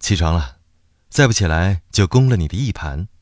起床了，再不起来就攻了你的一盘。